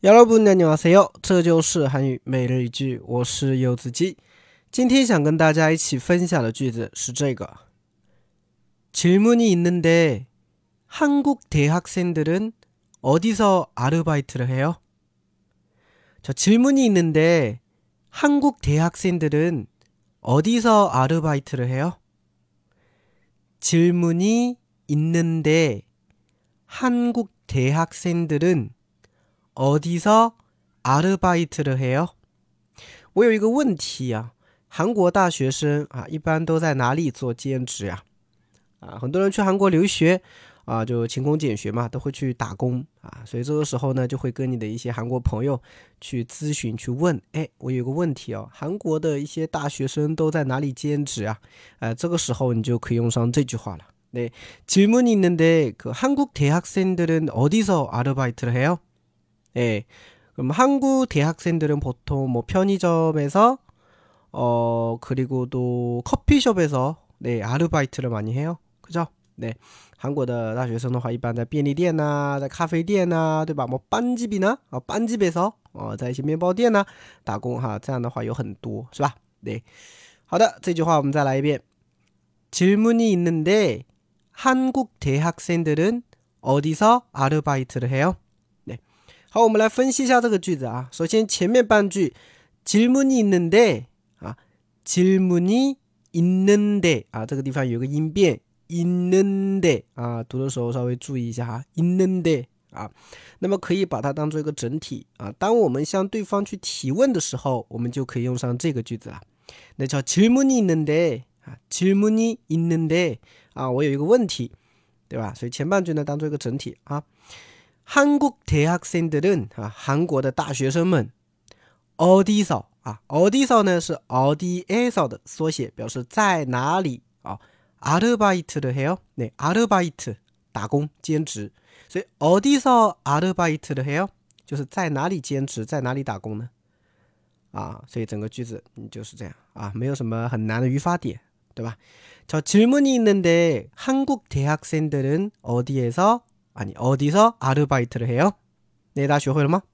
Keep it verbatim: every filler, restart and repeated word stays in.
여러분 안녕하세요，这就是韩语每日一句，我是柚子鸡。今天想跟大家一起分享的句子是这个，질문이 있는데 한국 대학생들은 어디서 아르바이트를 해요? 저 질문이 있는데 한국 대학생들은 어디서 아르바이트를 해요? 질문이 있는데 한국 대학생들은 어디서 아르바이트를 해요? 我有一个问题啊，韩国大学生啊，一般都在哪里做兼职呀？啊，很多人去韩国留学啊，就勤工俭学嘛，都会去打工啊，所以这个时候呢，就会跟你的一些韩国朋友去咨询，去问，哎，我有个问题哦，韩国的一些大学生都在哪里兼职啊？呃，这个时候你就可以用上这句话了。네, 질문이 있는데 그 한국 대학생들은 어디서 아르바이트를 해요? 예, 그럼 한국 대학생들은 보통 뭐 편의점에서 어 그리고 또 커피숍에서 네 아르바이트를 많이 해요. 그죠? 네, 한국의 大学生的话一般在便利店啊，在咖啡店啊，对吧？뭐 빵집이나 어, 빵집에서 어, 在一些面包店啊打工哈，这样的话有很多，是吧？对，好的，这句话我们再来一遍。질문이 있는데 한국 대학생들은 어디서 아르바이트를 해요? 好，我们来分析一下这个句子啊。首先前面半句질문이 있는데啊，질문이 있는데啊，这个地方有个音变있는데啊，读的时候稍微注意一下哈，있는데啊，那么可以把它当做一个整体啊。当我们向对方去提问的时候，我们就可以用上这个句子了。那叫질문이 있는데啊，질문이 있는데啊，我有一个问题，对吧？所以前半句呢当做一个整体啊。한국 대학생들은啊，韩国的大学生们 어디서啊 어디서呢是 어디에서 的缩写，表示在哪里啊。아르바이트를 해요. 네, 아르바이트 打工兼职，所以 어디서 아르바이트를 해요 就是在哪里兼职，在哪里打工呢？啊，所以整个句子就是这样啊，没有什么很难的语法点，对吧？저 질문이 있는데 한국 대학생들은 어디에서 아니 어디서 아르바이트를 해요? 네, 다 学会了吗？